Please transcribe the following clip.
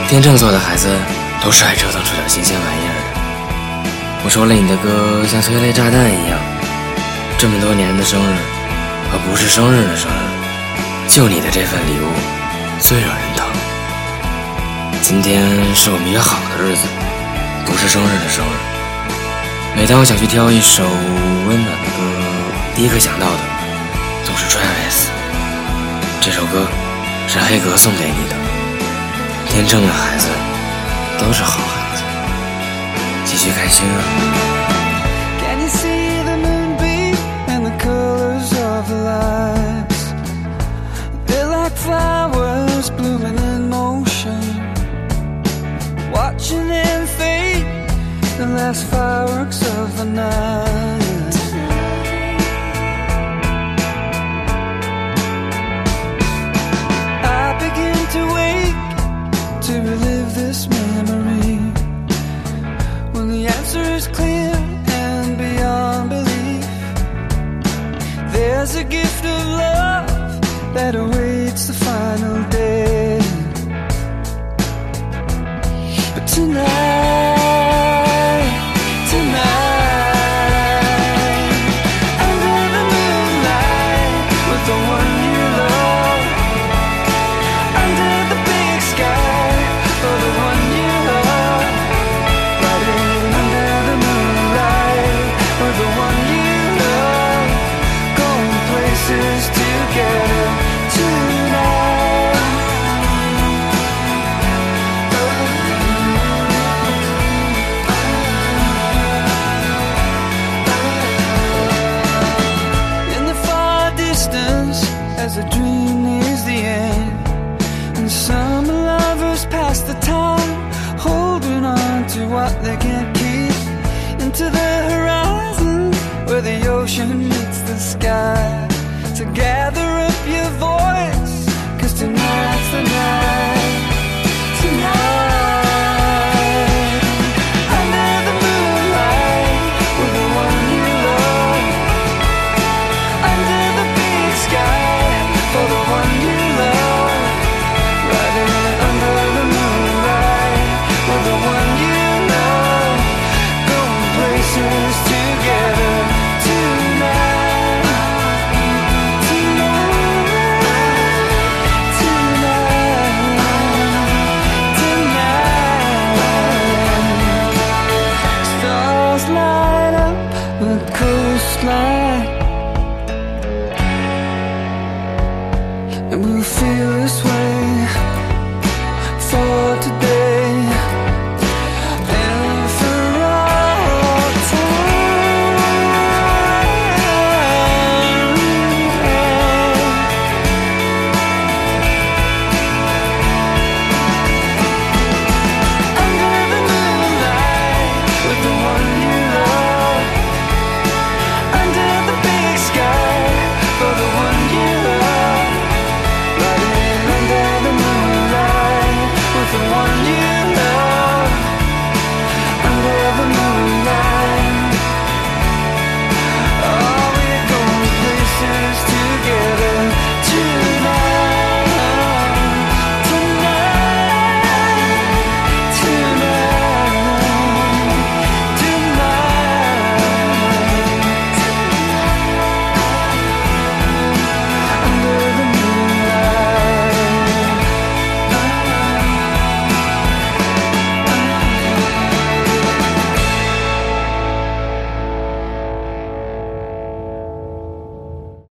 天秤座的孩子都是爱折腾出点新鲜玩意儿的。我说了，你的歌像催泪炸弹一样，这么多年的生日和不是生日的生日，就你的这份礼物最惹人疼。今天是我们约好的日子，不是生日的生日。每当我想去挑一首温暖的歌，第一个想到的总是 Travis。 这首歌是黑格送给你的。天秤的孩子都是好孩子，继续开心啊。 Can you see the moonbeam and the colors of the lights? They're like flowers blooming in motion, watching them fade, the last fireworks of the night. I begin to wake to relive this memory, when the answer is clear and beyond belief. There's a gift of love that awaits the final day. But tonight, under the moonlight, with the one you love, under the big sky, for the one you love, riding under the moonlight, with the one you love, going places together tonight. In the far distance, as a dream nears the end, and some lovers pass the time, holding on to what they can't keep, into the horizon where the ocean meets the sky. So gather up your voice, 'cause tonight's the night. Tonight, under the moonlight, with the one you love, under the big sky, for the one you love, riding under the moonlight, with the one you love, going places together tonight. Stars light up the coastline.